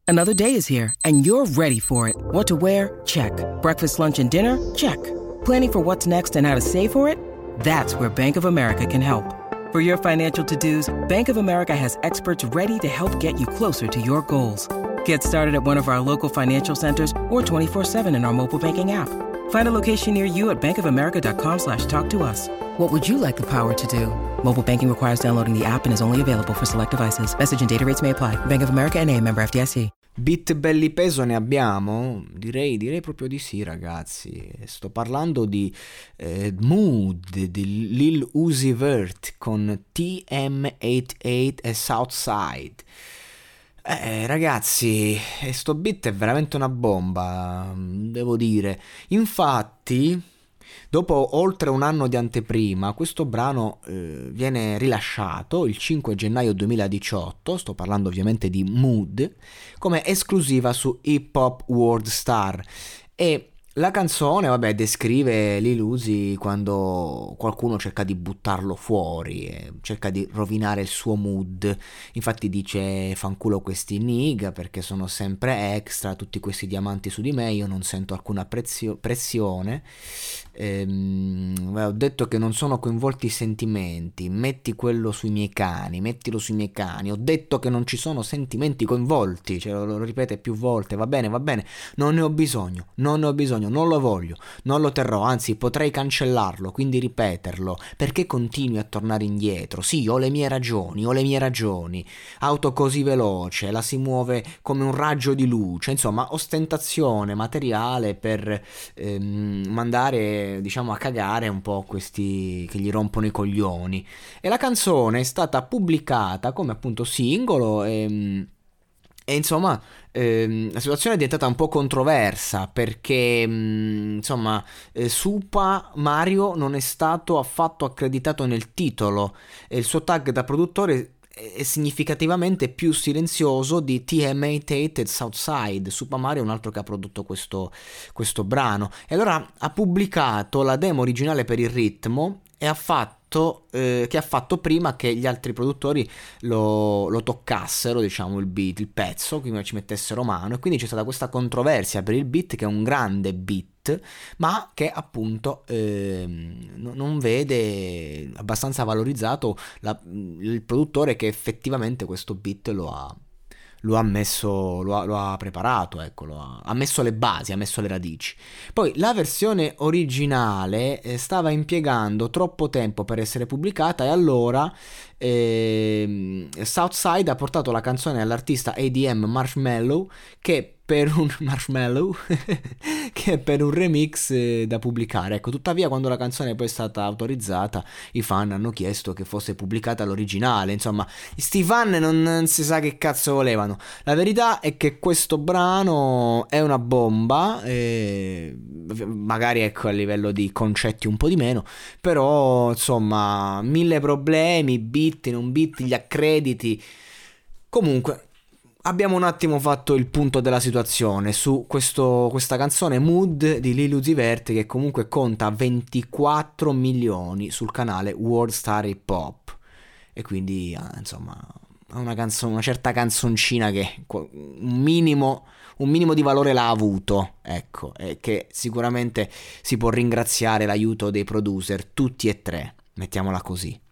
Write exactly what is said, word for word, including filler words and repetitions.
Another day is here, and you're ready for it. What to wear? Check. Breakfast, lunch, and dinner? Check. Planning for what's next and how to save for it? That's where Bank of America can help. For your financial to-dos, Bank of America has experts ready to help get you closer to your goals. Get started at one of our local financial centers or twenty-four seven in our mobile banking app. Find a location near you at bankofamerica.com slash talk to us. What would you like the power to do? Mobile banking requires downloading the app and is only available for select devices. Message and data rates may apply. Bank of America N A, member F D I C. Beat belli peso ne abbiamo? Direi, direi proprio di sì, ragazzi. Sto parlando di eh, Mood di Lil Uzi Vert con T M ottantotto e Southside. Eh, ragazzi, sto beat è veramente una bomba, devo dire. Infatti, dopo oltre un anno di anteprima, questo brano eh, viene rilasciato il cinque gennaio duemiladiciotto, sto parlando ovviamente di Mood, come esclusiva su Hip Hop World Star. E la canzone, vabbè, descrive Lil Uzi quando qualcuno cerca di buttarlo fuori, eh, cerca di rovinare il suo mood. Infatti dice: fanculo questi nigga perché sono sempre extra, tutti questi diamanti su di me, io non sento alcuna prezio- pressione. Ehm, ho detto che non sono coinvolti i sentimenti, metti quello sui miei cani, mettilo sui miei cani. Ho detto che non ci sono sentimenti coinvolti, cioè, lo, lo ripete più volte, va bene, va bene, non ne ho bisogno, non ne ho bisogno. Non lo voglio, non lo terrò, anzi potrei cancellarlo, quindi ripeterlo. Perché continui a tornare indietro? Sì, ho le mie ragioni, ho le mie ragioni. Auto così veloce, la si muove come un raggio di luce, insomma, ostentazione materiale per ehm, mandare, diciamo, a cagare un po' questi che gli rompono i coglioni. E la canzone è stata pubblicata come appunto singolo e... E insomma, ehm, la situazione è diventata un po' controversa perché, mh, insomma, eh, Supa Mario non è stato affatto accreditato nel titolo e il suo tag da produttore è significativamente più silenzioso di T M ottantotto e Southside. Supa Mario è un altro che ha prodotto questo, questo brano. E allora ha pubblicato la demo originale per il ritmo e ha fatto Eh, che ha fatto prima che gli altri produttori lo, lo toccassero, diciamo, il beat, il pezzo, quindi ci mettessero mano, e quindi c'è stata questa controversia per il beat, che è un grande beat ma che appunto eh, non vede abbastanza valorizzato la, il produttore che effettivamente questo beat lo ha lo ha messo, lo ha, lo ha preparato, ecco, lo ha, ha messo le basi, ha messo le radici. Poi la versione originale eh, stava impiegando troppo tempo per essere pubblicata e allora eh, Southside ha portato la canzone all'artista A D M Marshmello che per un Marshmello che per un remix eh, da pubblicare. Ecco, tuttavia quando la canzone poi è stata autorizzata i fan hanno chiesto che fosse pubblicata l'originale. Insomma, sti fan non, non si sa che cazzo volevano. La verità è che questo brano è una bomba, eh, magari ecco a livello di concetti un po' di meno, però insomma mille problemi, beat, non beat, gli accrediti. Comunque abbiamo un attimo fatto il punto della situazione su questo, questa canzone Mood di Lil Uzi Vert, che comunque conta ventiquattro milioni sul canale World Star Hip Hop, e quindi insomma una, canzone, una certa canzoncina che un minimo, un minimo di valore l'ha avuto, ecco, e che sicuramente si può ringraziare l'aiuto dei producer, tutti e tre, mettiamola così.